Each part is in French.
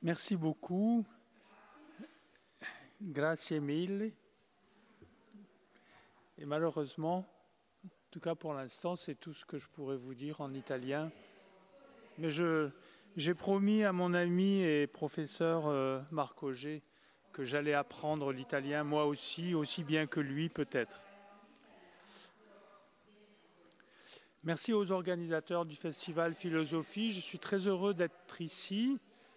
Merci beaucoup. Grazie mille. Et malheureusement, en tout cas pour l'instant, c'est tout ce que je pourrais vous dire en italien. Mais j'ai promis à mon ami et professeur Marc Auger que j'allais apprendre l'italien moi aussi bien que lui peut-être. Merci aux organisateurs du Festival Philosophie. Je suis très heureux d'être ici.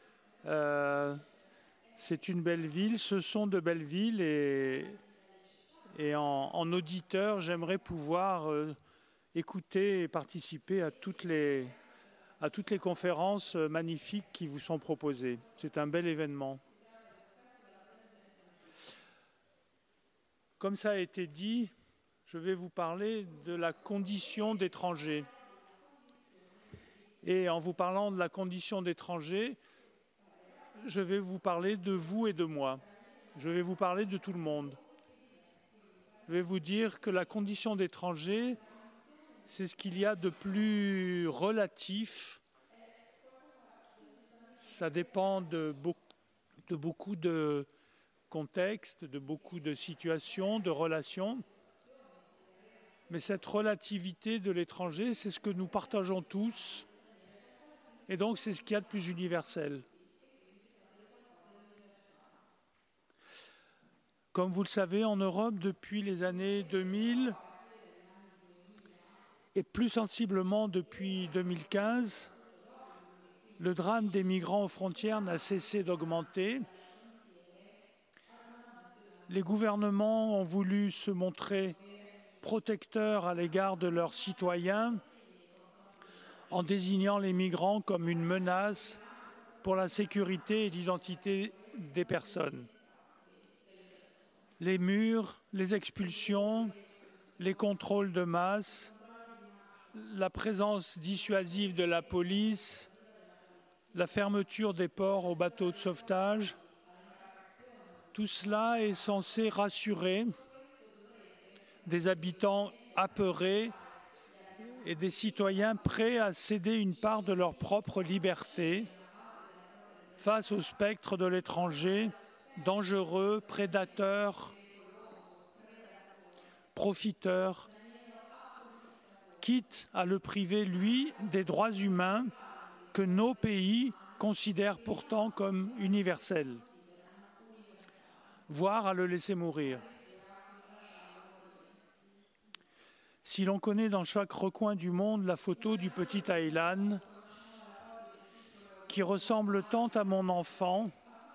C'est une belle ville, ce sont de belles villes et en auditeur, j'aimerais pouvoir écouter et participer à toutes les conférences magnifiques qui vous sont proposées. C'est un bel événement. Comme ça a été dit, je vais vous parler de la condition d'étranger. Et en vous parlant de la condition d'étranger, je vais vous parler de vous et de moi. Je vais vous parler de tout le monde. Je vais vous dire que la condition d'étranger, c'est ce qu'il y a de plus relatif. Ça dépend de beaucoup de contextes, de beaucoup de situations, de relations. Mais cette relativité de l'étranger, c'est ce que nous partageons tous. Et donc, c'est ce qu'il y a de plus universel. Comme vous le savez, en Europe, depuis les années 2000, et plus sensiblement depuis 2015, le drame des migrants aux frontières n'a cessé d'augmenter. Les gouvernements ont voulu se montrer protecteurs à l'égard de leurs citoyens en désignant les migrants comme une menace pour la sécurité et l'identité des personnes. Les murs, les expulsions, les contrôles de masse, la présence dissuasive de la police, la fermeture des ports aux bateaux de sauvetage, tout cela est censé rassurer des habitants apeurés et des citoyens prêts à céder une part de leur propre liberté face au spectre de l'étranger, dangereux, prédateur, profiteur, quitte à le priver, lui, des droits humains que nos pays considèrent pourtant comme universels, voire à le laisser mourir. Si l'on connaît dans chaque recoin du monde la photo du petit Aylan, qui ressemble tant à mon enfant,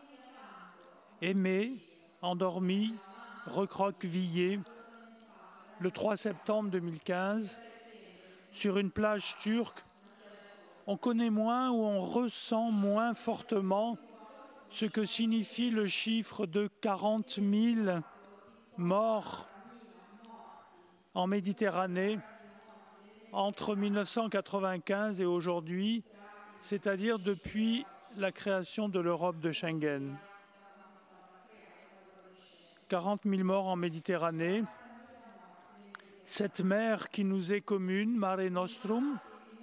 aimé, endormi, recroquevillé, le 3 septembre 2015, sur une plage turque, on connaît moins ou on ressent moins fortement ce que signifie le chiffre de 40 000 morts en Méditerranée entre 1995 et aujourd'hui, c'est-à-dire depuis la création de l'Europe de Schengen. 40 000 morts en Méditerranée, cette mer qui nous est commune, Mare Nostrum,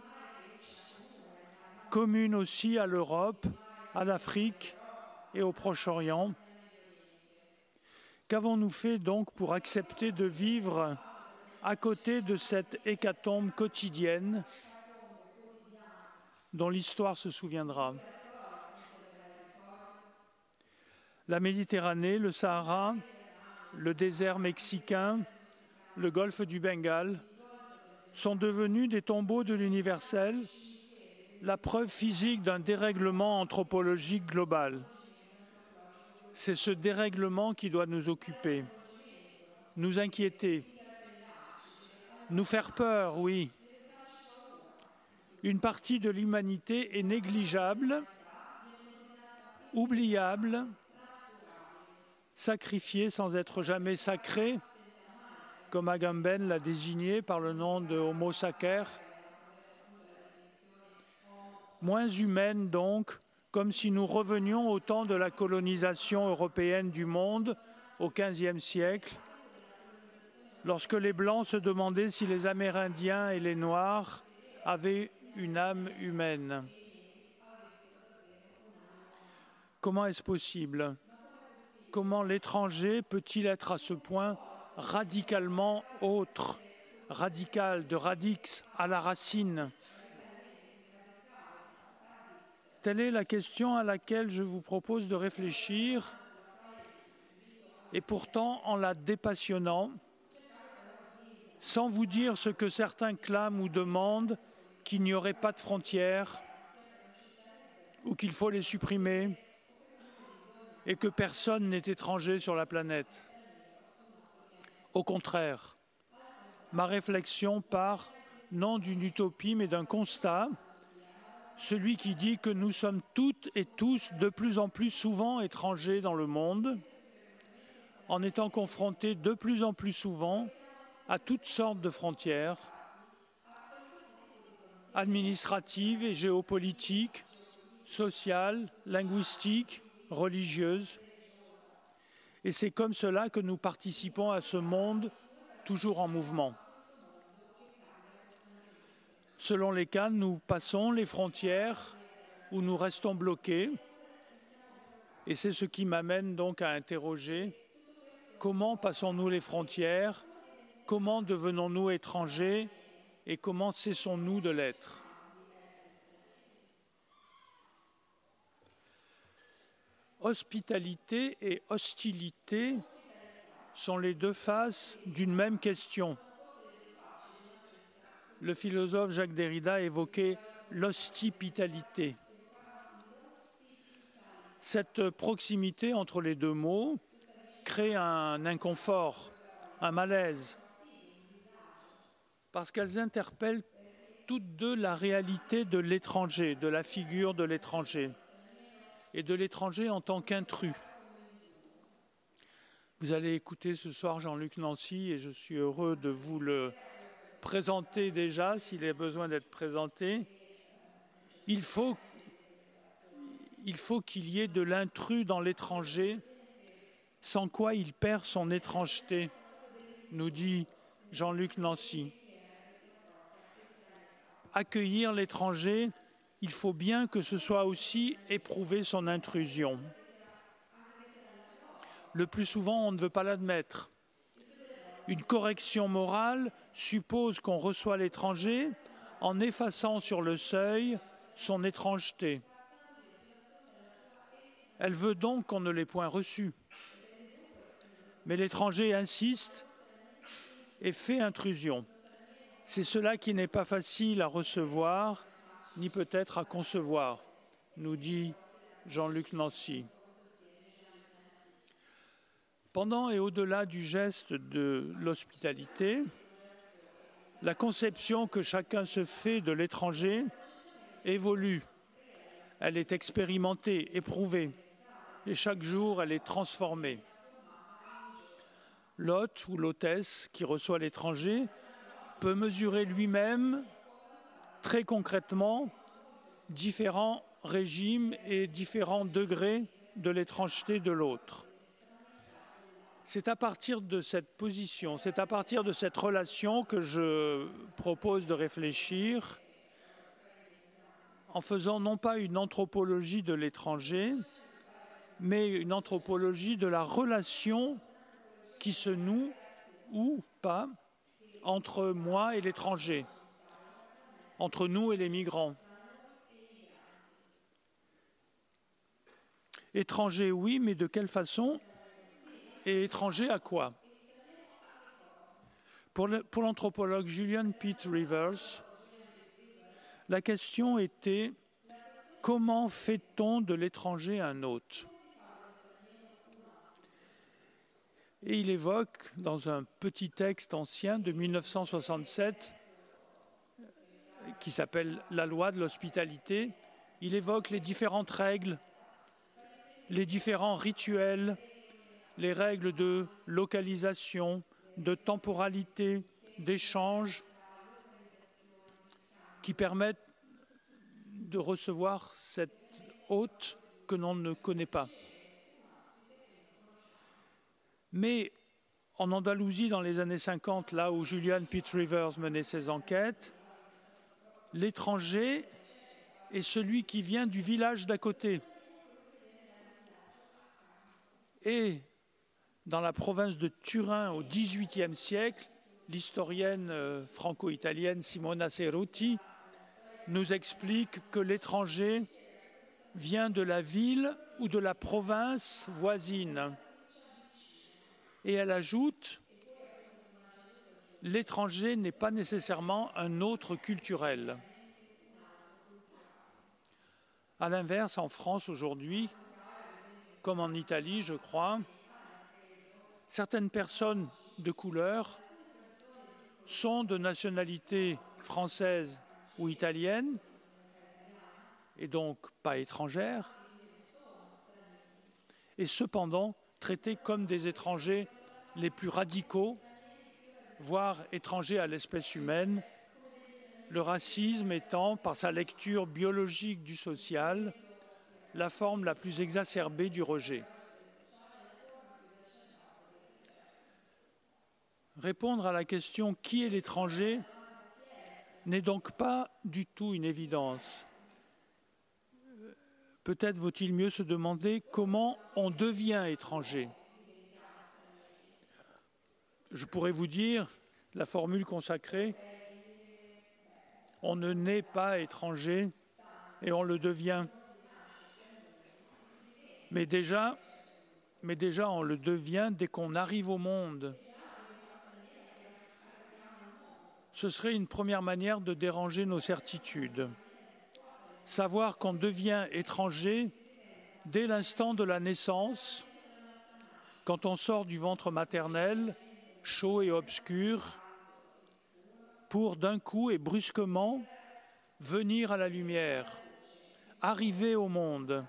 commune aussi à l'Europe, à l'Afrique et au Proche-Orient. Qu'avons-nous fait donc pour accepter de vivre à côté de cette hécatombe quotidienne dont l'histoire se souviendra? La Méditerranée, le Sahara, le désert mexicain, le golfe du Bengale sont devenus des tombeaux de l'universel, la preuve physique d'un dérèglement anthropologique global. C'est ce dérèglement qui doit nous occuper, nous inquiéter, nous faire peur, oui. Une partie de l'humanité est négligeable, oubliable, sacrifiée sans être jamais sacrée, comme Agamben l'a désigné par le nom de Homo sacer. Moins humaine donc, comme si nous revenions au temps de la colonisation européenne du monde au XVe siècle, lorsque les Blancs se demandaient si les Amérindiens et les Noirs avaient une âme humaine. Comment est-ce possible? Comment l'étranger peut-il être à ce point radicalement autre, radical, de radix à la racine? Telle est la question à laquelle je vous propose de réfléchir, et pourtant en la dépassionnant, sans vous dire ce que certains clament ou demandent, qu'il n'y aurait pas de frontières, ou qu'il faut les supprimer, et que personne n'est étranger sur la planète. Au contraire, ma réflexion part non d'une utopie, mais d'un constat, celui qui dit que nous sommes toutes et tous de plus en plus souvent étrangers dans le monde, en étant confrontés de plus en plus souvent à toutes sortes de frontières, administratives et géopolitiques, sociales, linguistiques, religieuses. Et c'est comme cela que nous participons à ce monde toujours en mouvement. Selon les cas, nous passons les frontières où nous restons bloqués. Et c'est ce qui m'amène donc à interroger comment passons-nous les frontières, comment devenons-nous étrangers et comment cessons-nous de l'être? Hospitalité et hostilité sont les deux faces d'une même question. Le philosophe Jacques Derrida évoquait l'hospitalité. Cette proximité entre les deux mots crée un inconfort, un malaise, parce qu'elles interpellent toutes deux la réalité de l'étranger, de la figure de l'étranger, et de l'étranger en tant qu'intrus. Vous allez écouter ce soir Jean-Luc Nancy, et je suis heureux de vous le présenter déjà, s'il a besoin d'être présenté. Il faut qu'il y ait de l'intrus dans l'étranger, sans quoi il perd son étrangeté, nous dit Jean-Luc Nancy. Accueillir l'étranger, il faut bien que ce soit aussi éprouver son intrusion. Le plus souvent, on ne veut pas l'admettre. Une correction morale suppose qu'on reçoit l'étranger en effaçant sur le seuil son étrangeté. Elle veut donc qu'on ne l'ait point reçu. Mais l'étranger insiste et fait intrusion. C'est cela qui n'est pas facile à recevoir, ni peut-être à concevoir, nous dit Jean-Luc Nancy. Pendant et au-delà du geste de l'hospitalité, la conception que chacun se fait de l'étranger évolue. Elle est expérimentée, éprouvée, et chaque jour elle est transformée. L'hôte ou l'hôtesse qui reçoit l'étranger peut mesurer lui-même très concrètement différents régimes et différents degrés de l'étrangeté de l'autre. C'est à partir de cette position, c'est à partir de cette relation que je propose de réfléchir en faisant non pas une anthropologie de l'étranger, mais une anthropologie de la relation qui se noue, ou pas, entre moi et l'étranger, entre nous et les migrants. Étranger, oui, mais de quelle façon? Et étranger à quoi? Pour l'anthropologue Julian Pitt Rivers, la question était « Comment fait-on de l'étranger un hôte ?» Et il évoque, dans un petit texte ancien de 1967, qui s'appelle « La loi de l'hospitalité », il évoque les différentes règles, les différents rituels, les règles de localisation, de temporalité, d'échange, qui permettent de recevoir cet hôte que l'on ne connaît pas. Mais en Andalousie, dans les années 50, là où Julian Pitt Rivers menait ses enquêtes, l'étranger est celui qui vient du village d'à côté. Et dans la province de Turin au XVIIIe siècle, l'historienne franco-italienne Simona Cerutti nous explique que l'étranger vient de la ville ou de la province voisine. Et elle ajoute, l'étranger n'est pas nécessairement un autre culturel. À l'inverse, en France aujourd'hui, comme en Italie, je crois, certaines personnes de couleur sont de nationalité française ou italienne, et donc pas étrangères, et cependant traités comme des étrangers les plus radicaux, voire étrangers à l'espèce humaine, le racisme étant, par sa lecture biologique du social, la forme la plus exacerbée du rejet. Répondre à la question « Qui est l'étranger ?» n'est donc pas du tout une évidence. Peut-être vaut-il mieux se demander comment on devient étranger. Je pourrais vous dire la formule consacrée « On ne naît pas étranger et on le devient ». Mais déjà, on le devient dès qu'on arrive au monde. Ce serait une première manière de déranger nos certitudes. Savoir qu'on devient étranger dès l'instant de la naissance, quand on sort du ventre maternel, chaud et obscur, pour d'un coup et brusquement venir à la lumière, arriver au monde,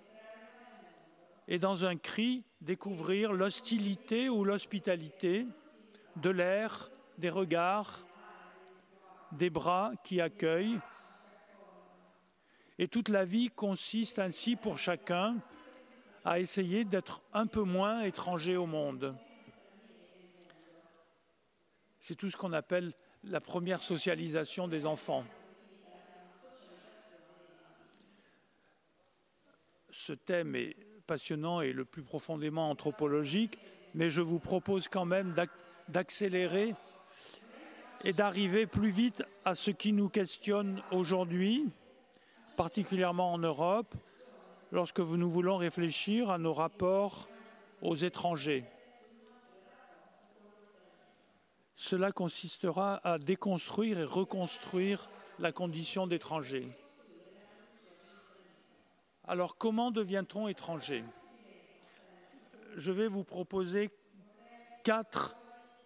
et dans un cri découvrir l'hostilité ou l'hospitalité de l'air, des regards, des bras qui accueillent. Et toute la vie consiste ainsi pour chacun à essayer d'être un peu moins étranger au monde. C'est tout ce qu'on appelle la première socialisation des enfants. Ce thème est passionnant et le plus profondément anthropologique, mais je vous propose quand même d'accélérer et d'arriver plus vite à ce qui nous questionne aujourd'hui, particulièrement en Europe, lorsque nous voulons réfléchir à nos rapports aux étrangers. Cela consistera à déconstruire et reconstruire la condition d'étranger. Alors, comment devient-on étranger? Je vais vous proposer 4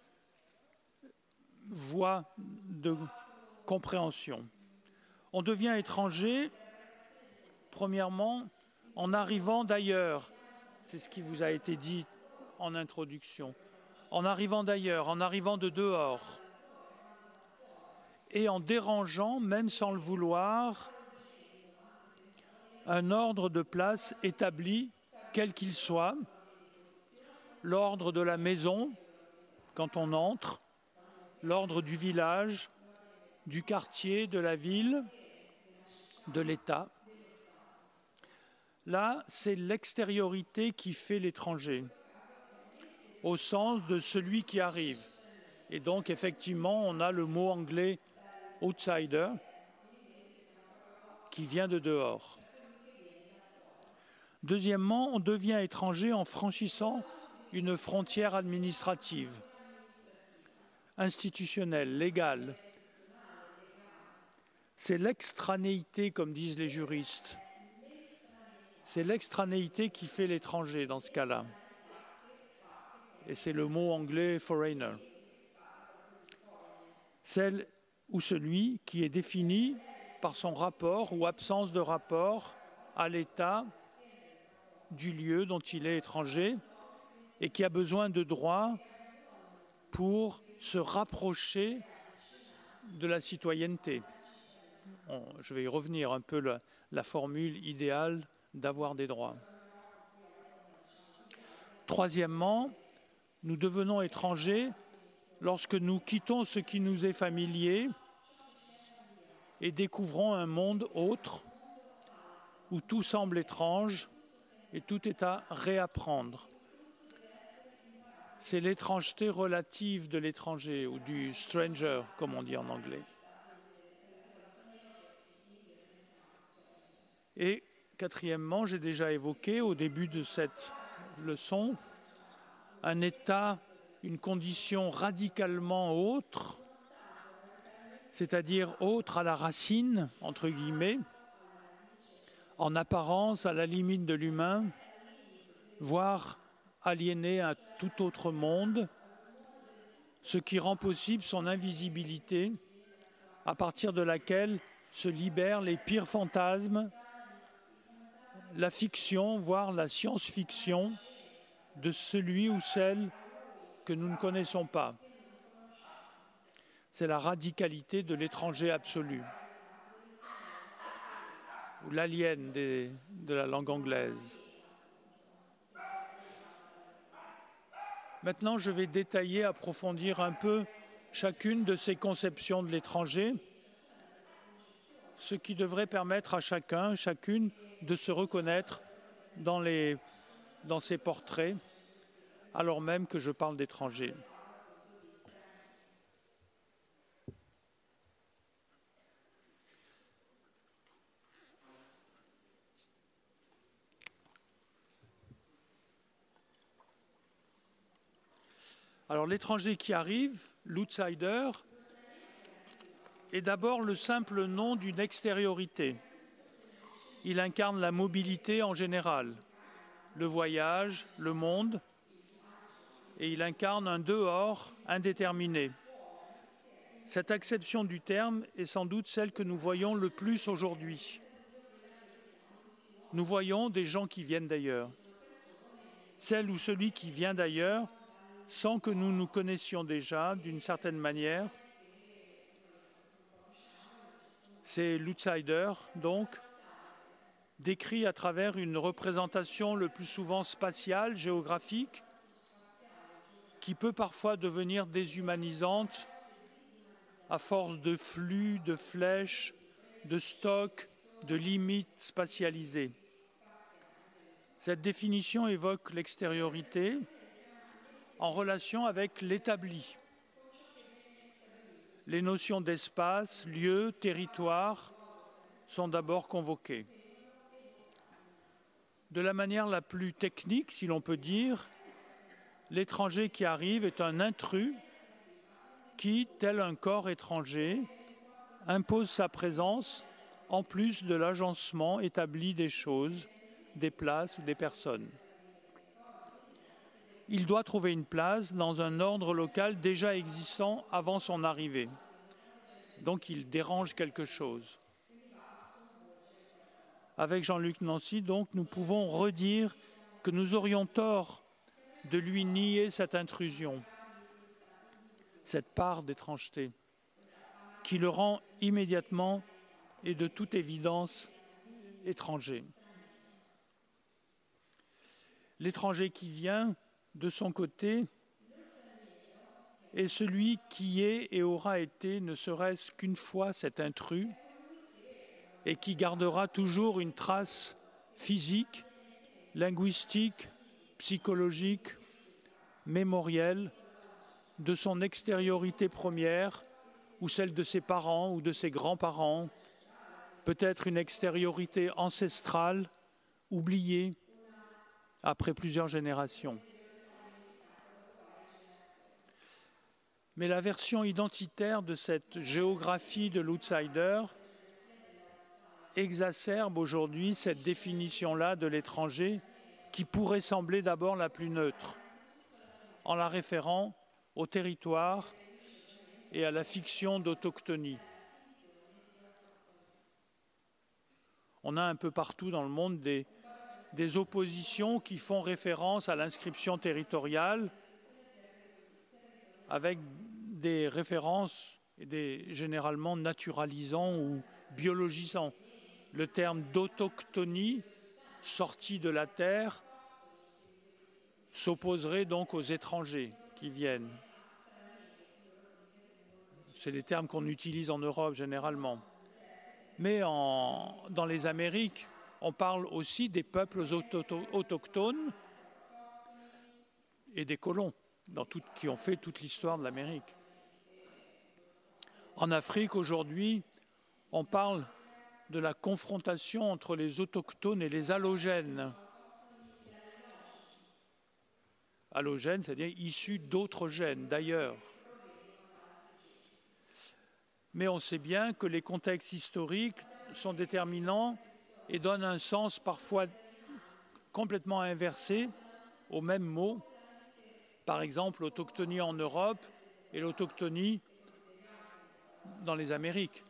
voies de compréhension. On devient étranger, premièrement, en arrivant d'ailleurs. C'est ce qui vous a été dit en introduction. En arrivant d'ailleurs, en arrivant de dehors. Et en dérangeant, même sans le vouloir, un ordre de place établi, quel qu'il soit, l'ordre de la maison, quand on entre, l'ordre du village, du quartier, de la ville, de l'État. Là, c'est l'extériorité qui fait l'étranger, au sens de celui qui arrive. Et donc, effectivement, on a le mot anglais « outsider » qui vient de dehors. Deuxièmement, on devient étranger en franchissant une frontière administrative, institutionnelle, légale. C'est l'extranéité, comme disent les juristes. C'est l'extranéité qui fait l'étranger dans ce cas-là. Et c'est le mot anglais « foreigner ». Celle ou celui qui est défini par son rapport ou absence de rapport à l'État du lieu dont il est étranger et qui a besoin de droits pour se rapprocher de la citoyenneté. Je vais y revenir un peu, la formule idéale d'avoir des droits. Troisièmement, nous devenons étrangers lorsque nous quittons ce qui nous est familier et découvrons un monde autre où tout semble étrange et tout est à réapprendre. c'est l'étrangeté relative de l'étranger ou du stranger, comme on dit en anglais. Et quatrièmement, j'ai déjà évoqué au début de cette leçon un état, une condition radicalement autre, c'est-à-dire autre à la racine, entre guillemets, en apparence à la limite de l'humain, voire aliéné à tout autre monde, ce qui rend possible son invisibilité, à partir de laquelle se libèrent les pires fantasmes, la fiction, voire la science-fiction, de celui ou celle que nous ne connaissons pas. C'est la radicalité de l'étranger absolu, ou l'alien de la langue anglaise. Maintenant, je vais détailler, approfondir un peu chacune de ces conceptions de l'étranger, ce qui devrait permettre à chacun, chacune, de se reconnaître dans ces portraits, alors même que je parle d'étrangers. Alors l'étranger qui arrive, l'outsider, est d'abord le simple nom d'une extériorité. Il incarne la mobilité en général, le voyage, le monde, et il incarne un dehors indéterminé. Cette acception du terme est sans doute celle que nous voyons le plus aujourd'hui. Nous voyons des gens qui viennent d'ailleurs. Celle ou celui qui vient d'ailleurs, sans que nous nous connaissions déjà d'une certaine manière, c'est l'outsider, donc, décrit à travers une représentation le plus souvent spatiale, géographique, qui peut parfois devenir déshumanisante à force de flux, de flèches, de stocks, de limites spatialisées. Cette définition évoque l'extériorité en relation avec l'établi. Les notions d'espace, lieu, territoire sont d'abord convoquées. De la manière la plus technique, si l'on peut dire, l'étranger qui arrive est un intrus qui, tel un corps étranger, impose sa présence en plus de l'agencement établi des choses, des places ou des personnes. Il doit trouver une place dans un ordre local déjà existant avant son arrivée. Donc il dérange quelque chose. Avec Jean-Luc Nancy, donc, nous pouvons redire que nous aurions tort de lui nier cette intrusion, cette part d'étrangeté, qui le rend immédiatement et de toute évidence étranger. L'étranger qui vient, de son côté, est celui qui est et aura été, ne serait-ce qu'une fois, cet intrus, et qui gardera toujours une trace physique, linguistique, psychologique, mémorielle, de son extériorité première, ou celle de ses parents ou de ses grands-parents, peut-être une extériorité ancestrale, oubliée, après plusieurs générations. Mais la version identitaire de cette géographie de l'outsider exacerbe aujourd'hui cette définition-là de l'étranger qui pourrait sembler d'abord la plus neutre, en la référant au territoire et à la fiction d'autochtonie. On a un peu partout dans le monde des oppositions qui font référence à l'inscription territoriale, avec des références généralement naturalisant ou biologisant. Le terme d'autochtonie, sorti de la terre, s'opposerait donc aux étrangers qui viennent. C'est les termes qu'on utilise en Europe généralement. Mais dans les Amériques, on parle aussi des peuples autochtones et des colons qui ont fait toute l'histoire de l'Amérique. En Afrique, aujourd'hui, on parle de la confrontation entre les autochtones et les allogènes. Allogènes, c'est-à-dire issus d'autres gènes, d'ailleurs. Mais on sait bien que les contextes historiques sont déterminants et donnent un sens parfois complètement inversé au même mot. Par exemple, l'autochtonie en Europe et l'autochtonie dans les Amériques.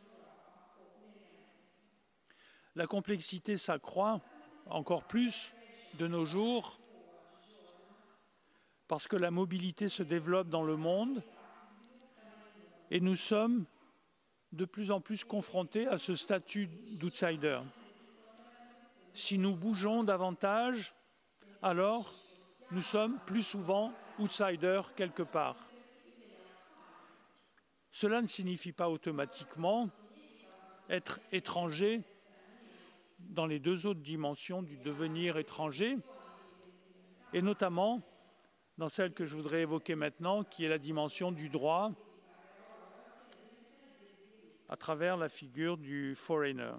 La complexité s'accroît encore plus de nos jours parce que la mobilité se développe dans le monde et nous sommes de plus en plus confrontés à ce statut d'outsider. Si nous bougeons davantage, alors nous sommes plus souvent outsiders quelque part. Cela ne signifie pas automatiquement être étranger dans les deux autres dimensions du devenir étranger, et notamment dans celle que je voudrais évoquer maintenant, qui est la dimension du droit à travers la figure du foreigner.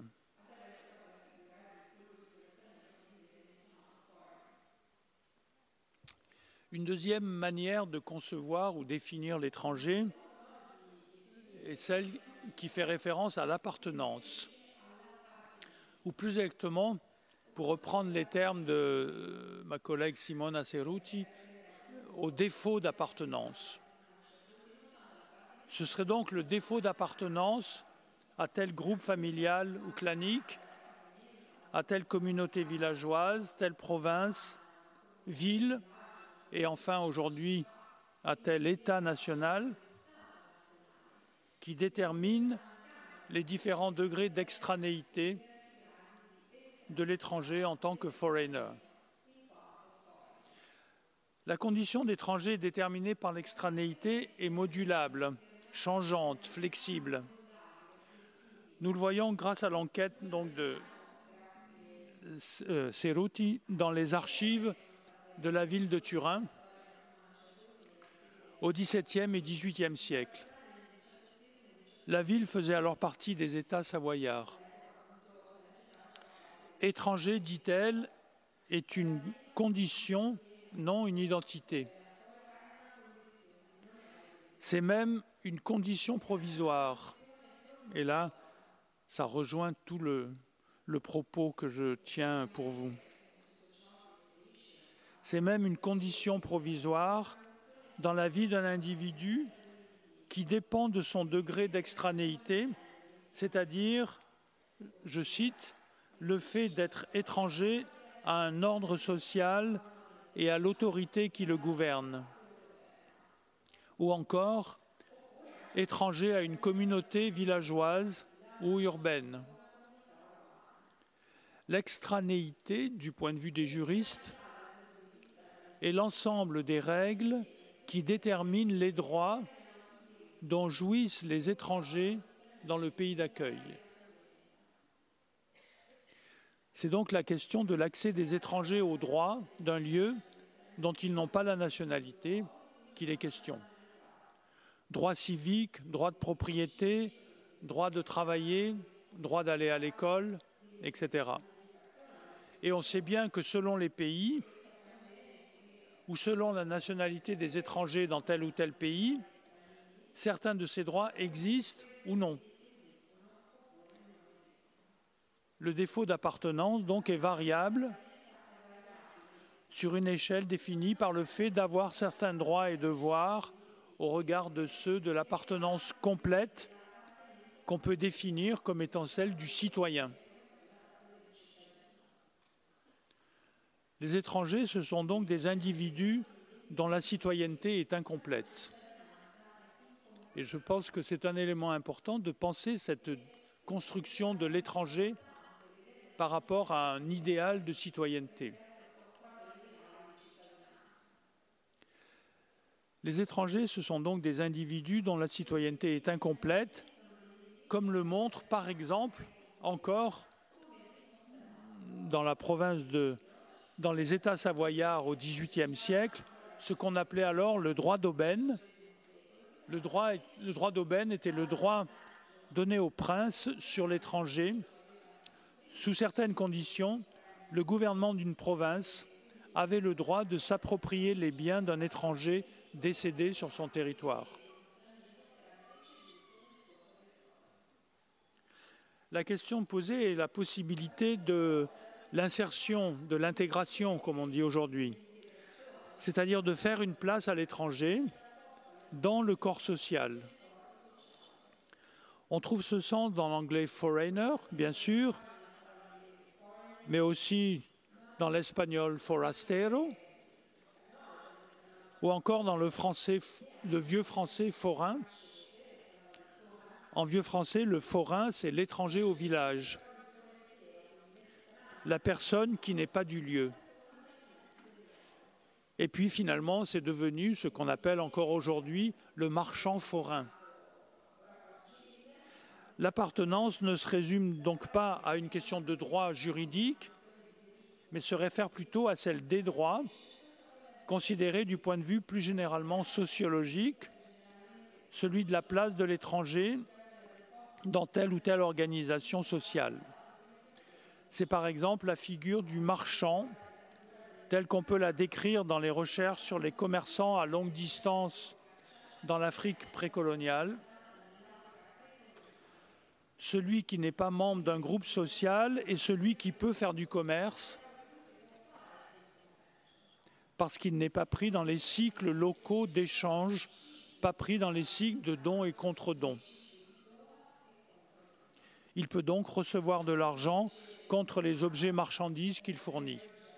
Une deuxième manière de concevoir ou définir l'étranger est celle qui fait référence à l'appartenance. Ou plus exactement, pour reprendre les termes de ma collègue Simona Ceruti, au défaut d'appartenance. Ce serait donc le défaut d'appartenance à tel groupe familial ou clanique, à telle communauté villageoise, telle province, ville, et enfin aujourd'hui à tel État national, qui détermine les différents degrés d'extranéité de l'étranger en tant que foreigner. La condition d'étranger déterminée par l'extranéité est modulable, changeante, flexible. Nous le voyons grâce à l'enquête donc de Ceruti dans les archives de la ville de Turin au XVIIe et XVIIIe siècle. La ville faisait alors partie des États savoyards. Étranger, dit-elle, est une condition, non une identité. C'est même une condition provisoire. Et là, ça rejoint tout le propos que je tiens pour vous. C'est même une condition provisoire dans la vie d'un individu qui dépend de son degré d'extranéité, c'est-à-dire, je cite, le fait d'être étranger à un ordre social et à l'autorité qui le gouverne. Ou encore, étranger à une communauté villageoise ou urbaine. L'extranéité, du point de vue des juristes, est l'ensemble des règles qui déterminent les droits dont jouissent les étrangers dans le pays d'accueil. C'est donc la question de l'accès des étrangers aux droits d'un lieu dont ils n'ont pas la nationalité qu'il est question. Droit civique, droit de propriété, droit de travailler, droit d'aller à l'école, etc. Et on sait bien que selon les pays, ou selon la nationalité des étrangers dans tel ou tel pays, certains de ces droits existent ou non. Le défaut d'appartenance, donc, est variable sur une échelle définie par le fait d'avoir certains droits et devoirs au regard de ceux de l'appartenance complète qu'on peut définir comme étant celle du citoyen. Les étrangers, ce sont donc des individus dont la citoyenneté est incomplète. Et je pense que c'est un élément important de penser cette construction de l'étranger par rapport à un idéal de citoyenneté. Les étrangers, ce sont donc des individus dont la citoyenneté est incomplète, comme le montre par exemple encore dans la province dans les États savoyards au XVIIIe siècle, ce qu'on appelait alors le droit d'aubaine. Le droit d'aubaine était le droit donné au prince sur l'étranger. Sous certaines conditions, le gouvernement d'une province avait le droit de s'approprier les biens d'un étranger décédé sur son territoire. La question posée est la possibilité de l'insertion, de l'intégration, comme on dit aujourd'hui, c'est-à-dire de faire une place à l'étranger dans le corps social. On trouve ce sens dans l'anglais foreigner, bien sûr, mais aussi dans l'espagnol forastero, ou encore dans le vieux français forain. En vieux français, le forain, c'est l'étranger au village, la personne qui n'est pas du lieu. Et puis finalement, c'est devenu ce qu'on appelle encore aujourd'hui le marchand forain. L'appartenance ne se résume donc pas à une question de droit juridique, mais se réfère plutôt à celle des droits, considérés du point de vue plus généralement sociologique, celui de la place de l'étranger dans telle ou telle organisation sociale. C'est par exemple la figure du marchand, telle qu'on peut la décrire dans les recherches sur les commerçants à longue distance dans l'Afrique précoloniale. Celui qui n'est pas membre d'un groupe social et celui qui peut faire du commerce parce qu'il n'est pas pris dans les cycles locaux d'échange, pas pris dans les cycles de dons et contre-dons. Il peut donc recevoir de l'argent contre les objets marchandises qu'il fournit.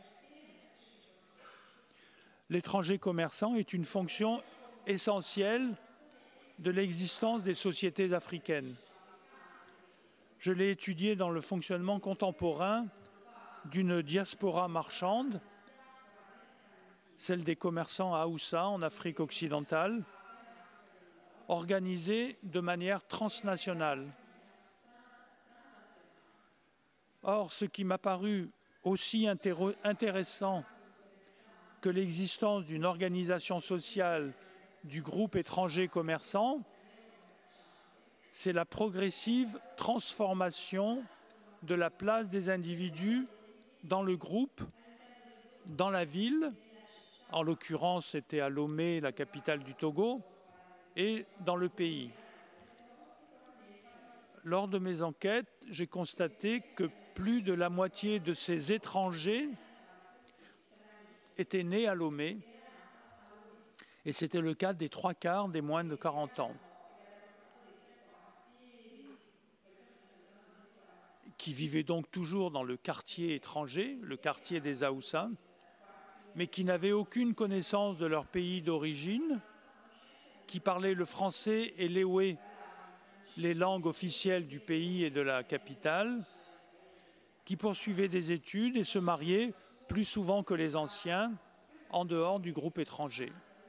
L'étranger commerçant est une fonction essentielle de l'existence des sociétés africaines. Je l'ai étudié dans le fonctionnement contemporain d'une diaspora marchande, celle des commerçants à Haoussa en Afrique occidentale, organisée de manière transnationale. Or, ce qui m'a paru aussi intéressant que l'existence d'une organisation sociale du groupe étranger commerçant, c'est la progressive transformation de la place des individus dans le groupe, dans la ville, en l'occurrence c'était à Lomé, la capitale du Togo, et dans le pays. Lors de mes enquêtes, j'ai constaté que plus de la moitié de ces étrangers étaient nés à Lomé, et c'était le cas des 3/4 des moins de 40 ans, qui vivaient donc toujours dans le quartier étranger, le quartier des Haoussa, mais qui n'avaient aucune connaissance de leur pays d'origine, qui parlaient le français et l'éoué, les langues officielles du pays et de la capitale, qui poursuivaient des études et se mariaient plus souvent que les anciens en dehors du groupe étranger.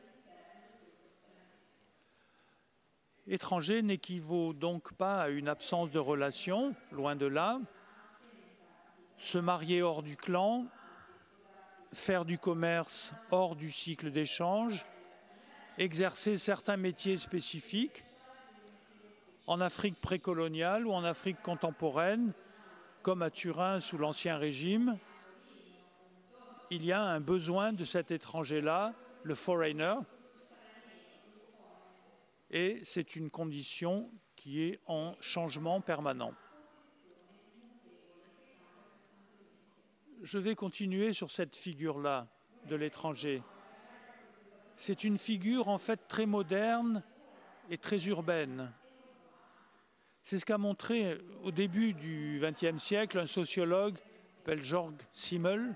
Étranger n'équivaut donc pas à une absence de relation, loin de là. Se marier hors du clan, faire du commerce hors du cycle d'échange, exercer certains métiers spécifiques en Afrique précoloniale ou en Afrique contemporaine, comme à Turin sous l'Ancien Régime, il y a un besoin de cet étranger-là, le foreigner, et c'est une condition qui est en changement permanent. Je vais continuer sur cette figure-là de l'étranger. C'est une figure en fait très moderne et très urbaine. C'est ce qu'a montré au début du XXe siècle un sociologue s'appelle Georg Simmel,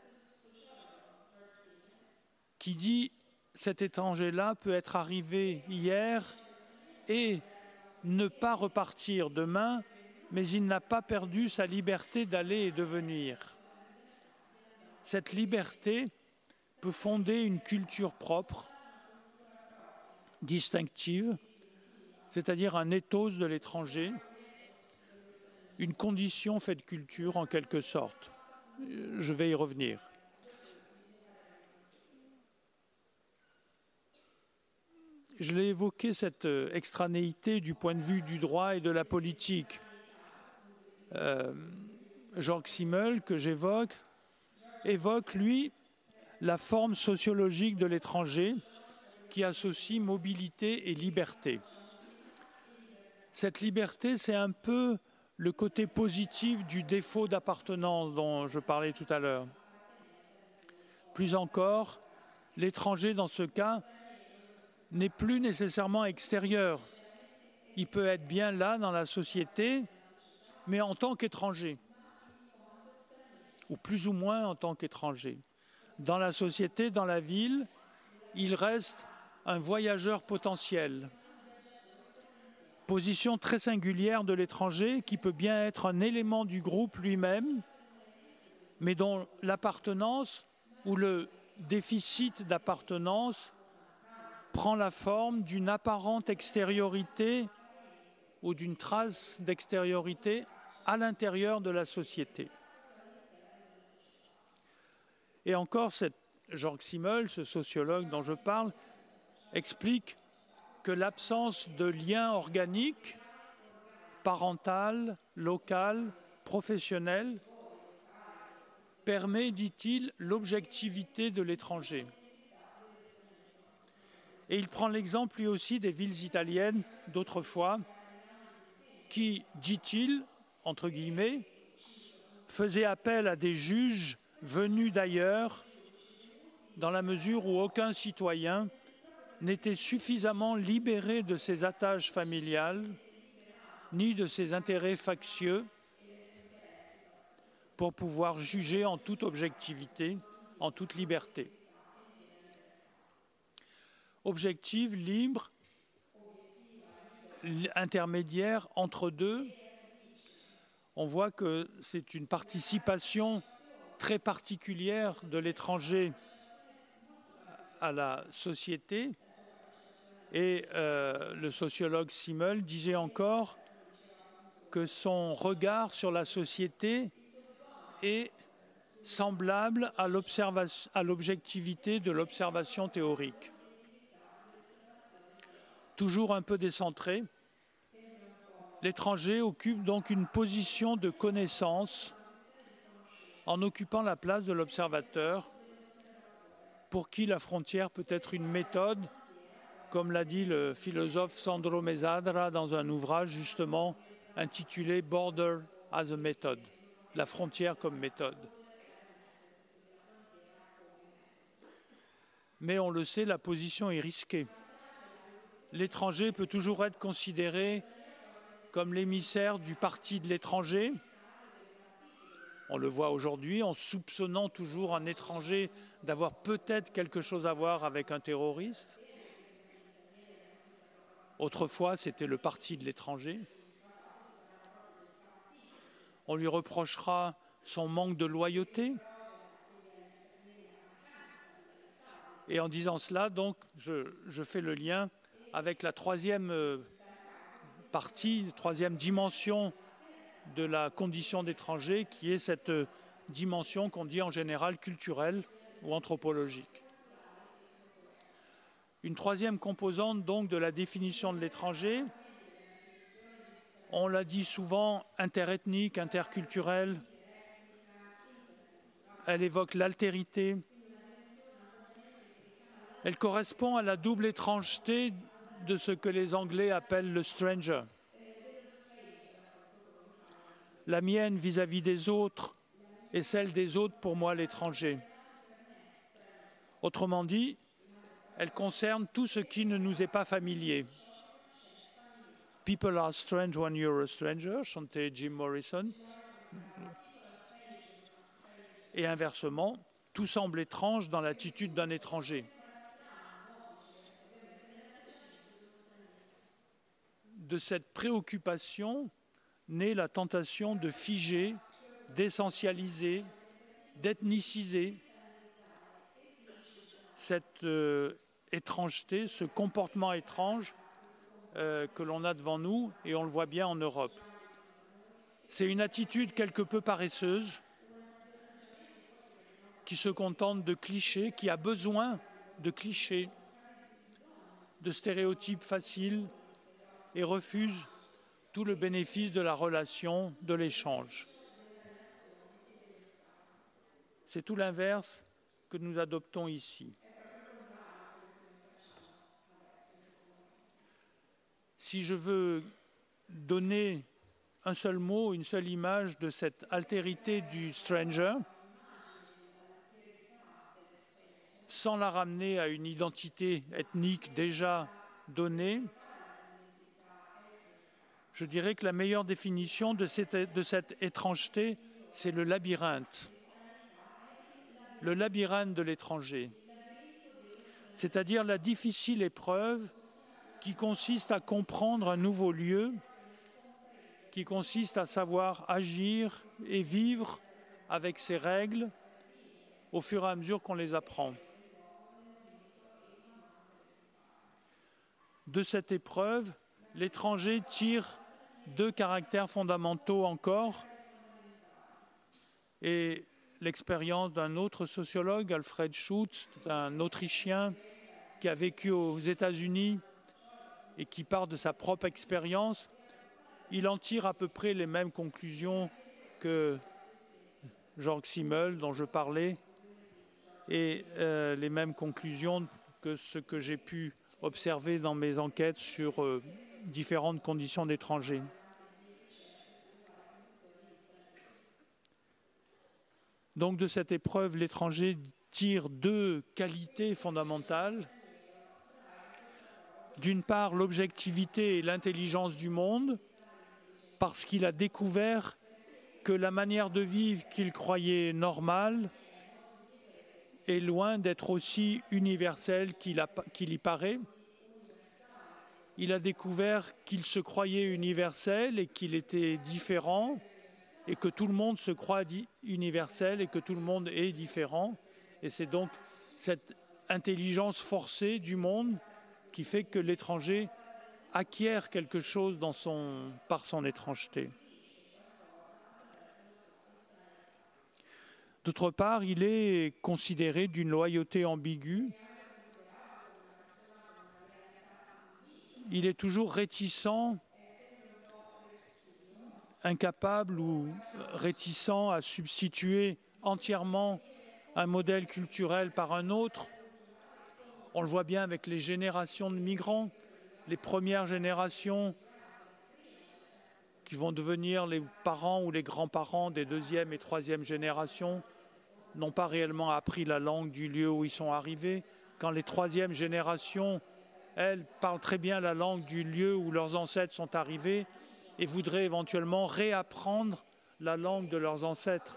qui dit « cet étranger-là peut être arrivé hier et ne pas repartir demain, mais il n'a pas perdu sa liberté d'aller et de venir. » Cette liberté peut fonder une culture propre, distinctive, c'est-à-dire un ethos de l'étranger, une condition faite culture en quelque sorte. Je vais y revenir. je l'ai évoqué, cette extranéité du point de vue du droit et de la politique. Jörg Simmel, que j'évoque, évoque, lui, la forme sociologique de l'étranger qui associe mobilité et liberté. Cette liberté, c'est un peu le côté positif du défaut d'appartenance dont je parlais tout à l'heure. Plus encore, l'étranger, dans ce cas, n'est plus nécessairement extérieur. Il peut être bien là, dans la société, mais en tant qu'étranger, ou plus ou moins en tant qu'étranger. Dans la société, dans la ville, il reste un voyageur potentiel. Position très singulière de l'étranger qui peut bien être un élément du groupe lui-même, mais dont l'appartenance ou le déficit d'appartenance prend la forme d'une apparente extériorité ou d'une trace d'extériorité à l'intérieur de la société. Et encore, Jörg Simmel, ce sociologue dont je parle, explique que l'absence de lien organique, parental, local, professionnel, permet, dit-il, l'objectivité de l'étranger. Et il prend l'exemple lui aussi des villes italiennes d'autrefois qui, dit-il, entre guillemets, faisaient appel à des juges venus d'ailleurs dans la mesure où aucun citoyen n'était suffisamment libéré de ses attaches familiales ni de ses intérêts factieux pour pouvoir juger en toute objectivité, en toute liberté. Objective, libre, intermédiaire entre deux, on voit que c'est une participation très particulière de l'étranger à la société. Et le sociologue Simmel disait encore que son regard sur la société est semblable à l'objectivité de l'observation théorique. Toujours un peu décentré, l'étranger occupe donc une position de connaissance en occupant la place de l'observateur, pour qui la frontière peut être une méthode, comme l'a dit le philosophe Sandro Mesadra dans un ouvrage justement intitulé « Border as a Method », la frontière comme méthode. Mais on le sait, la position est risquée. L'étranger peut toujours être considéré comme l'émissaire du parti de l'étranger. On le voit aujourd'hui en soupçonnant toujours un étranger d'avoir peut-être quelque chose à voir avec un terroriste. Autrefois, c'était le parti de l'étranger. On lui reprochera son manque de loyauté. Et en disant cela, donc, je fais le lien avec la troisième partie, troisième dimension de la condition d'étranger, qui est cette dimension qu'on dit en général culturelle ou anthropologique. Une troisième composante donc de la définition de l'étranger, on l'a dit souvent, interethnique, interculturelle, elle évoque l'altérité, elle correspond à la double étrangeté de ce que les Anglais appellent le stranger. La mienne vis-à-vis des autres et celle des autres pour moi l'étranger. Autrement dit, elle concerne tout ce qui ne nous est pas familier. People are strange when you're a stranger, chantait Jim Morrison. Et inversement, tout semble étrange dans l'attitude d'un étranger. De cette préoccupation naît la tentation de figer, d'essentialiser, d'ethniciser cette étrangeté, ce comportement étrange que l'on a devant nous, et on le voit bien en Europe. C'est une attitude quelque peu paresseuse qui se contente de clichés, qui a besoin de clichés de stéréotypes faciles et refuse tout le bénéfice de la relation, de l'échange. C'est tout l'inverse que nous adoptons ici. Si je veux donner un seul mot, une seule image de cette altérité du stranger, sans la ramener à une identité ethnique déjà donnée, je dirais que la meilleure définition de cette étrangeté, c'est le labyrinthe. Le labyrinthe de l'étranger, c'est-à-dire la difficile épreuve qui consiste à comprendre un nouveau lieu, qui consiste à savoir agir et vivre avec ses règles au fur et à mesure qu'on les apprend. De cette épreuve, l'étranger tire deux caractères fondamentaux encore, et l'expérience d'un autre sociologue, Alfred Schutz, un Autrichien qui a vécu aux États-Unis et qui part de sa propre expérience, il en tire à peu près les mêmes conclusions que Jörg Simmel, dont je parlais, et les mêmes conclusions que ce que j'ai pu observer dans mes enquêtes sur différentes conditions d'étrangers. Donc de cette épreuve, l'étranger tire deux qualités fondamentales. D'une part, l'objectivité et l'intelligence du monde, parce qu'il a découvert que la manière de vivre qu'il croyait normale est loin d'être aussi universelle qu'il y paraît. Il a découvert qu'il se croyait universel et qu'il était différent, et que tout le monde se croit universel et que tout le monde est différent. Et c'est donc cette intelligence forcée du monde qui fait que l'étranger acquiert quelque chose par son étrangeté. D'autre part, il est considéré d'une loyauté ambiguë. Il est toujours réticent, incapable ou réticent à substituer entièrement un modèle culturel par un autre. On le voit bien avec les générations de migrants, les premières générations qui vont devenir les parents ou les grands-parents des deuxième et troisième générations n'ont pas réellement appris la langue du lieu où ils sont arrivés. Quand les troisièmes générations, elles, parlent très bien la langue du lieu où leurs ancêtres sont arrivés et voudraient éventuellement réapprendre la langue de leurs ancêtres.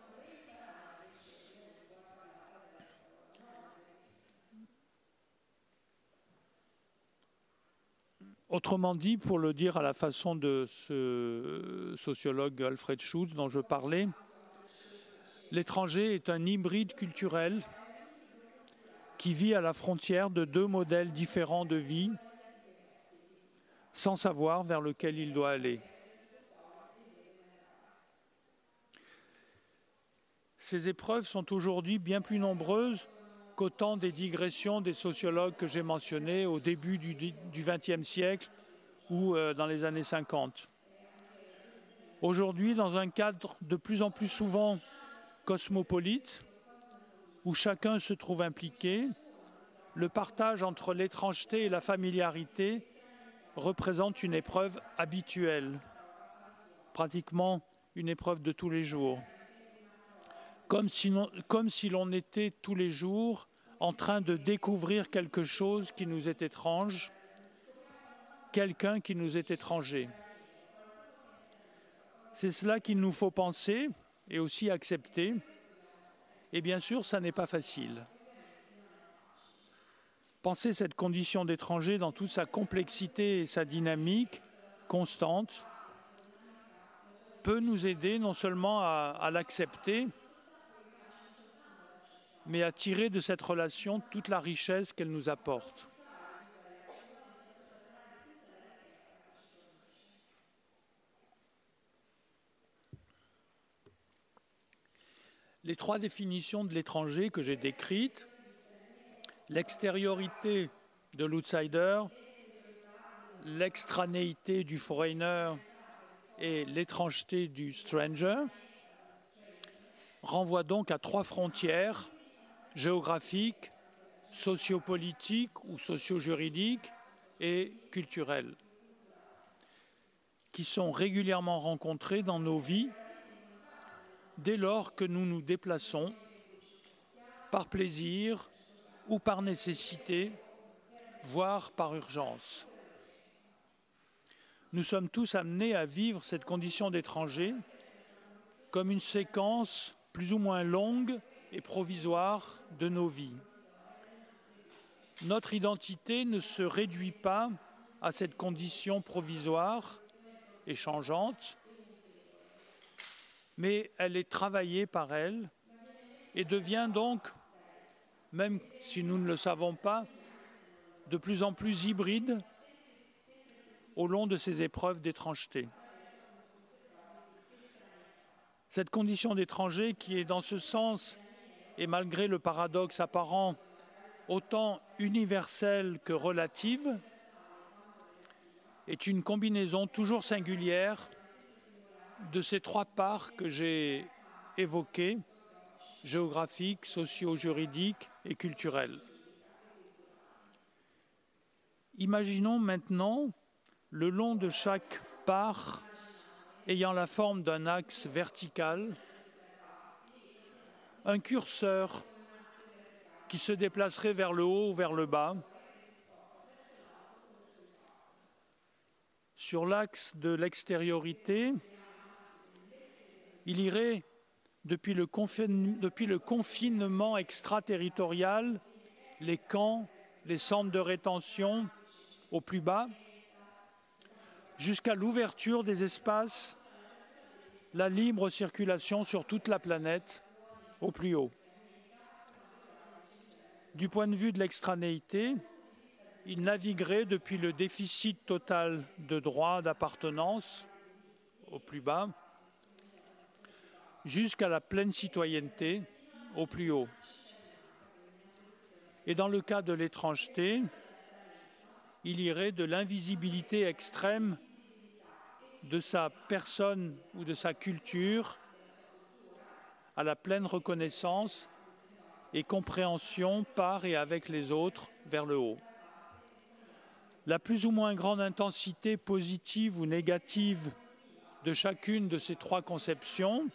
Autrement dit, pour le dire à la façon de ce sociologue Alfred Schutz dont je parlais, l'étranger est un hybride culturel qui vit à la frontière de deux modèles différents de vie, sans savoir vers lequel il doit aller. Ces épreuves sont aujourd'hui bien plus nombreuses qu'au temps des digressions des sociologues que j'ai mentionnés au début du XXe siècle ou dans les années 50. Aujourd'hui, dans un cadre de plus en plus souvent cosmopolite, où chacun se trouve impliqué, le partage entre l'étrangeté et la familiarité représente une épreuve habituelle, pratiquement une épreuve de tous les jours. Comme si l'on était tous les jours en train de découvrir quelque chose qui nous est étrange, quelqu'un qui nous est étranger. C'est cela qu'il nous faut penser et aussi accepter. Et bien sûr, ça n'est pas facile. Penser cette condition d'étranger dans toute sa complexité et sa dynamique constante peut nous aider non seulement à l'accepter, mais à tirer de cette relation toute la richesse qu'elle nous apporte. Les trois définitions de l'étranger que j'ai décrites, l'extériorité de l'outsider, l'extranéité du foreigner et l'étrangeté du stranger, renvoient donc à trois frontières géographiques, sociopolitiques ou socio-juridiques et culturelles, qui sont régulièrement rencontrées dans nos vies dès lors que nous nous déplaçons par plaisir ou par nécessité, voire par urgence. Nous sommes tous amenés à vivre cette condition d'étranger comme une séquence plus ou moins longue et provisoire de nos vies. Notre identité ne se réduit pas à cette condition provisoire et changeante, mais elle est travaillée par elle et devient donc, même si nous ne le savons pas, de plus en plus hybride au long de ces épreuves d'étrangeté. Cette condition d'étranger qui est dans ce sens, et malgré le paradoxe apparent, autant universelle que relative, est une combinaison toujours singulière de ces trois parts que j'ai évoquées, géographiques, socio-juridiques et culturelles. Imaginons maintenant, le long de chaque part ayant la forme d'un axe vertical, un curseur qui se déplacerait vers le haut ou vers le bas. Sur l'axe de l'extériorité, il irait depuis le confinement extraterritorial, les camps, les centres de rétention au plus bas, jusqu'à l'ouverture des espaces, la libre circulation sur toute la planète au plus haut. Du point de vue de l'extranéité, il naviguerait depuis le déficit total de droits d'appartenance au plus bas jusqu'à la pleine citoyenneté au plus haut. Et dans le cas de l'étrangeté, il irait de l'invisibilité extrême de sa personne ou de sa culture à la pleine reconnaissance et compréhension par et avec les autres vers le haut. La plus ou moins grande intensité positive ou négative de chacune de ces trois conceptions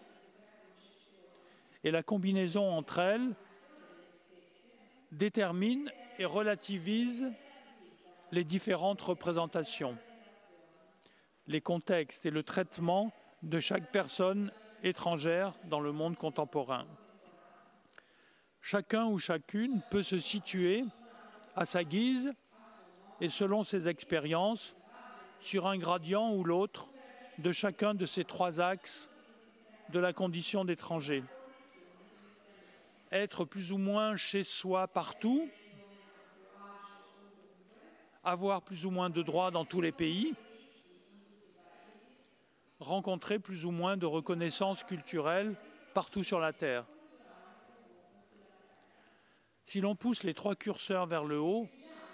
et la combinaison entre elles détermine et relativise les différentes représentations, les contextes et le traitement de chaque personne étrangère dans le monde contemporain. Chacun ou chacune peut se situer à sa guise et selon ses expériences sur un gradient ou l'autre de chacun de ces trois axes de la condition d'étranger. Être plus ou moins chez soi partout, avoir plus ou moins de droits dans tous les pays, rencontrer plus ou moins de reconnaissance culturelle partout sur la Terre. Si l'on pousse les trois curseurs vers le haut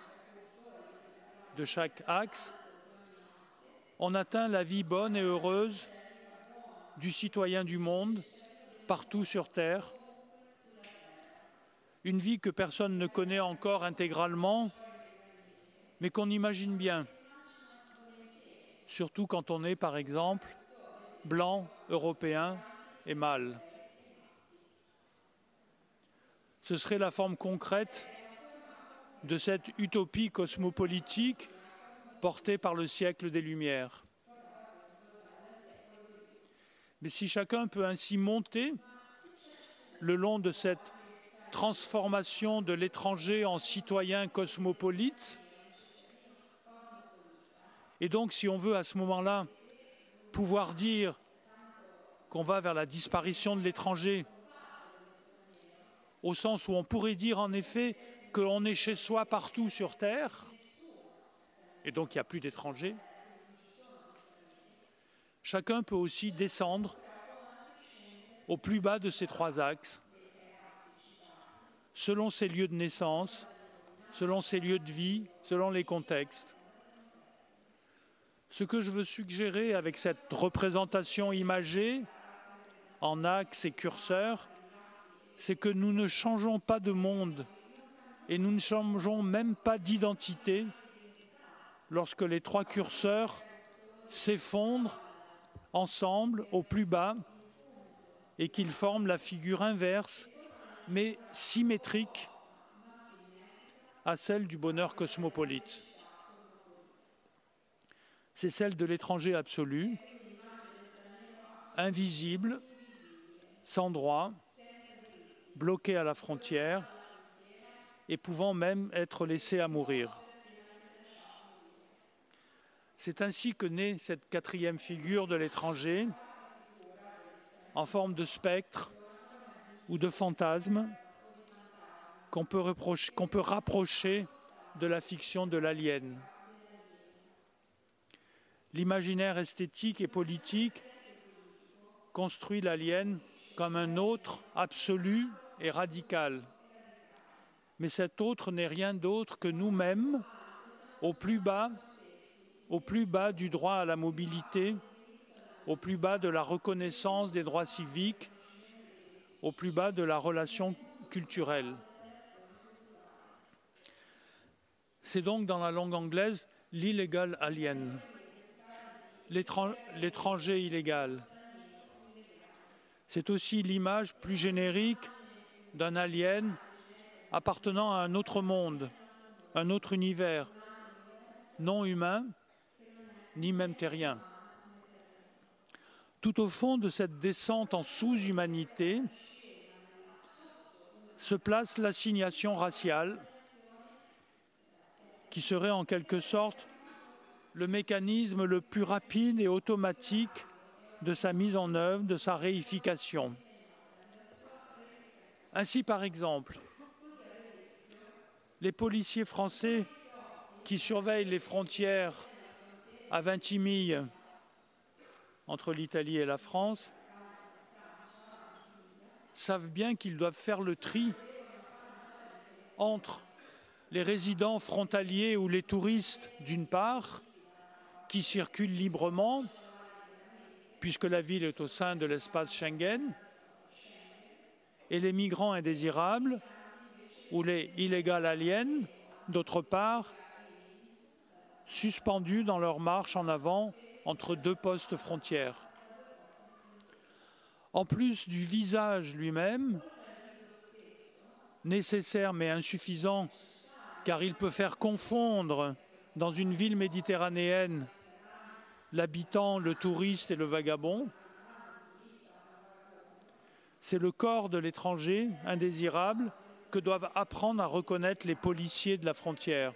de chaque axe, on atteint la vie bonne et heureuse du citoyen du monde, partout sur Terre. Une vie que personne ne connaît encore intégralement, mais qu'on imagine bien, surtout quand on est, par exemple, blanc, européen et mâle. Ce serait la forme concrète de cette utopie cosmopolitique portée par le siècle des Lumières. Mais si chacun peut ainsi monter le long de cette transformation de l'étranger en citoyen cosmopolite, et donc si on veut à ce moment-là pouvoir dire qu'on va vers la disparition de l'étranger, au sens où on pourrait dire en effet qu'on est chez soi partout sur Terre, et donc il n'y a plus d'étrangers, chacun peut aussi descendre au plus bas de ces trois axes, selon ses lieux de naissance, selon ses lieux de vie, selon les contextes. Ce que je veux suggérer avec cette représentation imagée, en axes et curseurs, c'est que nous ne changeons pas de monde et nous ne changeons même pas d'identité lorsque les trois curseurs s'effondrent ensemble au plus bas et qu'ils forment la figure inverse, mais symétrique à celle du bonheur cosmopolite. C'est celle de l'étranger absolu, invisible, sans droit, bloqué à la frontière et pouvant même être laissé à mourir. C'est ainsi que naît cette quatrième figure de l'étranger, en forme de spectre ou de fantasme, qu'on peut rapprocher de la fiction de l'alien. L'imaginaire esthétique et politique construit l'alien comme un autre absolu et radical. Mais cet autre n'est rien d'autre que nous-mêmes, au plus bas du droit à la mobilité, au plus bas de la reconnaissance des droits civiques, au plus bas de la relation culturelle. C'est donc dans la langue anglaise l'illegal alien, l'étranger illégal. C'est aussi l'image plus générique d'un alien appartenant à un autre monde, un autre univers, non humain, ni même terrien. Tout au fond de cette descente en sous-humanité se place l'assignation raciale, qui serait en quelque sorte le mécanisme le plus rapide et automatique de sa mise en œuvre, de sa réification. Ainsi, par exemple, les policiers français qui surveillent les frontières à Vintimille entre l'Italie et la France savent bien qu'ils doivent faire le tri entre les résidents frontaliers ou les touristes, d'une part, qui circulent librement, puisque la ville est au sein de l'espace Schengen, et les migrants indésirables, ou les illegal aliens, d'autre part, suspendus dans leur marche en avant entre deux postes frontières. En plus du visage lui-même, nécessaire mais insuffisant, car il peut faire confondre dans une ville méditerranéenne l'habitant, le touriste et le vagabond, c'est le corps de l'étranger indésirable que doivent apprendre à reconnaître les policiers de la frontière.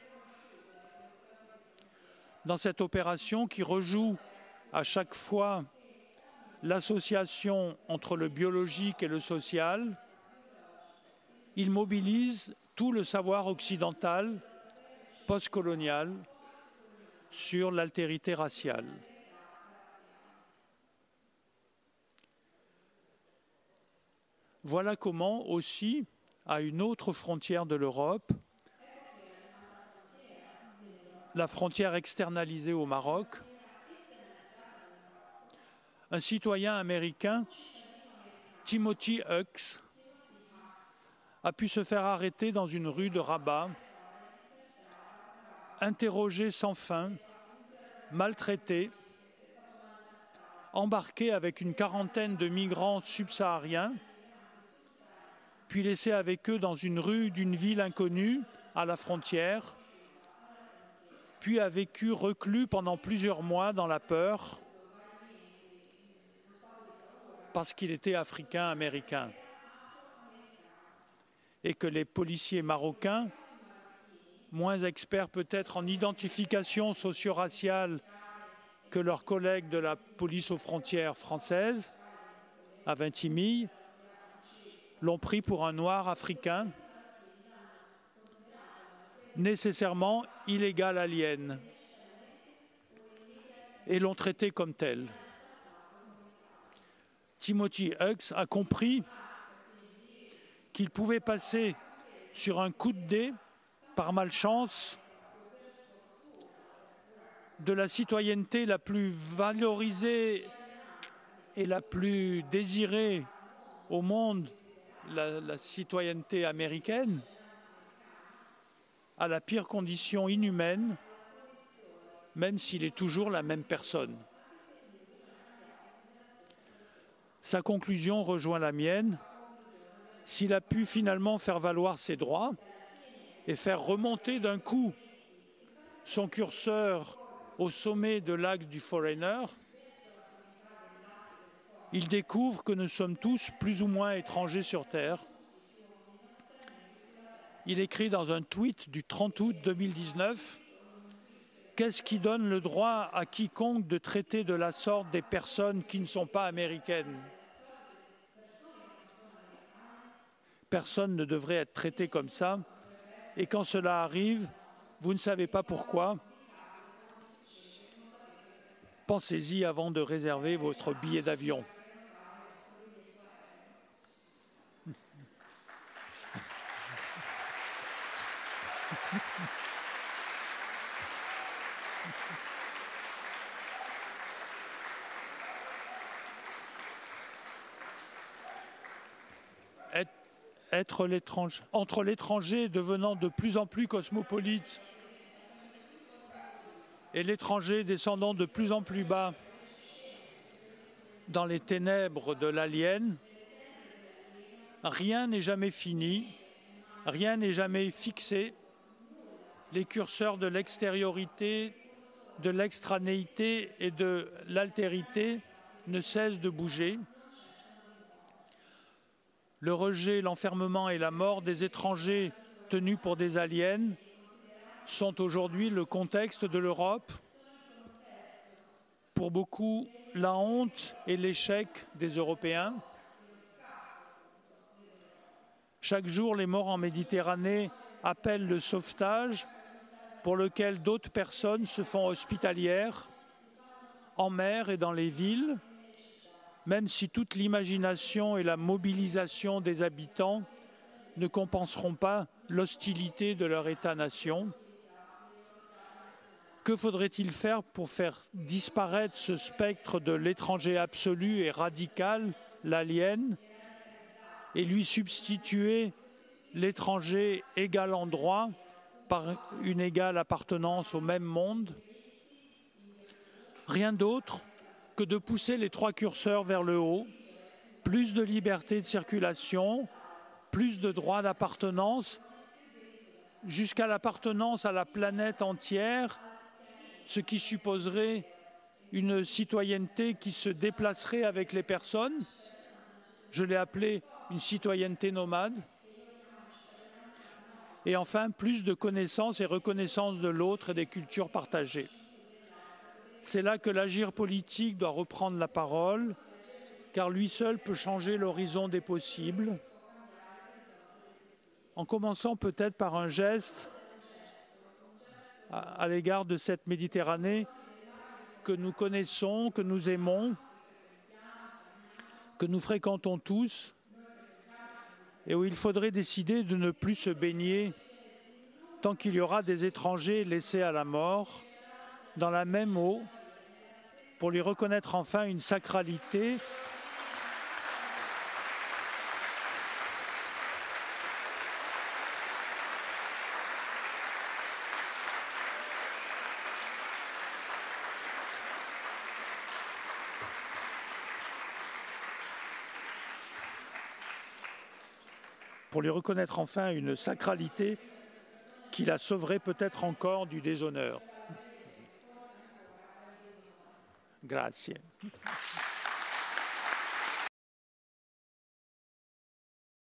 Dans cette opération qui rejoue à chaque fois l'association entre le biologique et le social, il mobilise tout le savoir occidental, postcolonial, sur l'altérité raciale. Voilà comment aussi, à une autre frontière de l'Europe, la frontière externalisée au Maroc, un citoyen américain, Timothy Hux, a pu se faire arrêter dans une rue de Rabat, interrogé sans fin, maltraité, embarqué avec une quarantaine de migrants subsahariens, puis laissé avec eux dans une rue d'une ville inconnue, à la frontière, puis a vécu reclus pendant plusieurs mois dans la peur, parce qu'il était africain-américain. Et que les policiers marocains, moins experts peut-être en identification socio-raciale que leurs collègues de la police aux frontières française, à Vintimille, l'ont pris pour un noir africain, nécessairement illégal alien, et l'ont traité comme tel. Timothy Hux a compris qu'il pouvait passer sur un coup de dé par malchance, de la citoyenneté la plus valorisée et la plus désirée au monde, la citoyenneté américaine, à la pire condition inhumaine, même s'il est toujours la même personne. Sa conclusion rejoint la mienne. S'il a pu finalement faire valoir ses droits et faire remonter d'un coup son curseur au sommet de l'acte du Foreigner, il découvre que nous sommes tous plus ou moins étrangers sur Terre. Il écrit dans un tweet du 30 août 2019 « Qu'est-ce qui donne le droit à quiconque de traiter de la sorte des personnes qui ne sont pas américaines ? Personne ne devrait être traité comme ça. Et quand cela arrive, vous ne savez pas pourquoi. Pensez-y avant de réserver votre billet d'avion. » Entre l'étranger devenant de plus en plus cosmopolite et l'étranger descendant de plus en plus bas dans les ténèbres de l'alien, rien n'est jamais fini, rien n'est jamais fixé. Les curseurs de l'extériorité, de l'extranéité et de l'altérité ne cessent de bouger. Le rejet, l'enfermement et la mort des étrangers tenus pour des aliens sont aujourd'hui le contexte de l'Europe. Pour beaucoup, la honte et l'échec des Européens. Chaque jour, les morts en Méditerranée appellent le sauvetage pour lequel d'autres personnes se font hospitalières en mer et dans les villes, même si toute l'imagination et la mobilisation des habitants ne compenseront pas l'hostilité de leur État-nation. Que faudrait-il faire pour faire disparaître ce spectre de l'étranger absolu et radical, l'alien, et lui substituer l'étranger égal en droit par une égale appartenance au même monde? Rien d'autre que de pousser les trois curseurs vers le haut, plus de liberté de circulation, plus de droits d'appartenance, jusqu'à l'appartenance à la planète entière, ce qui supposerait une citoyenneté qui se déplacerait avec les personnes. Je l'ai appelé une citoyenneté nomade. Et enfin, plus de connaissance et reconnaissance de l'autre et des cultures partagées. C'est là que l'agir politique doit reprendre la parole, car lui seul peut changer l'horizon des possibles, en commençant peut-être par un geste à l'égard de cette Méditerranée que nous connaissons, que nous aimons, que nous fréquentons tous, et où il faudrait décider de ne plus se baigner tant qu'il y aura des étrangers laissés à la mort dans la même eau, pour lui reconnaître enfin une sacralité qui la sauverait peut-être encore du déshonneur. Grazie.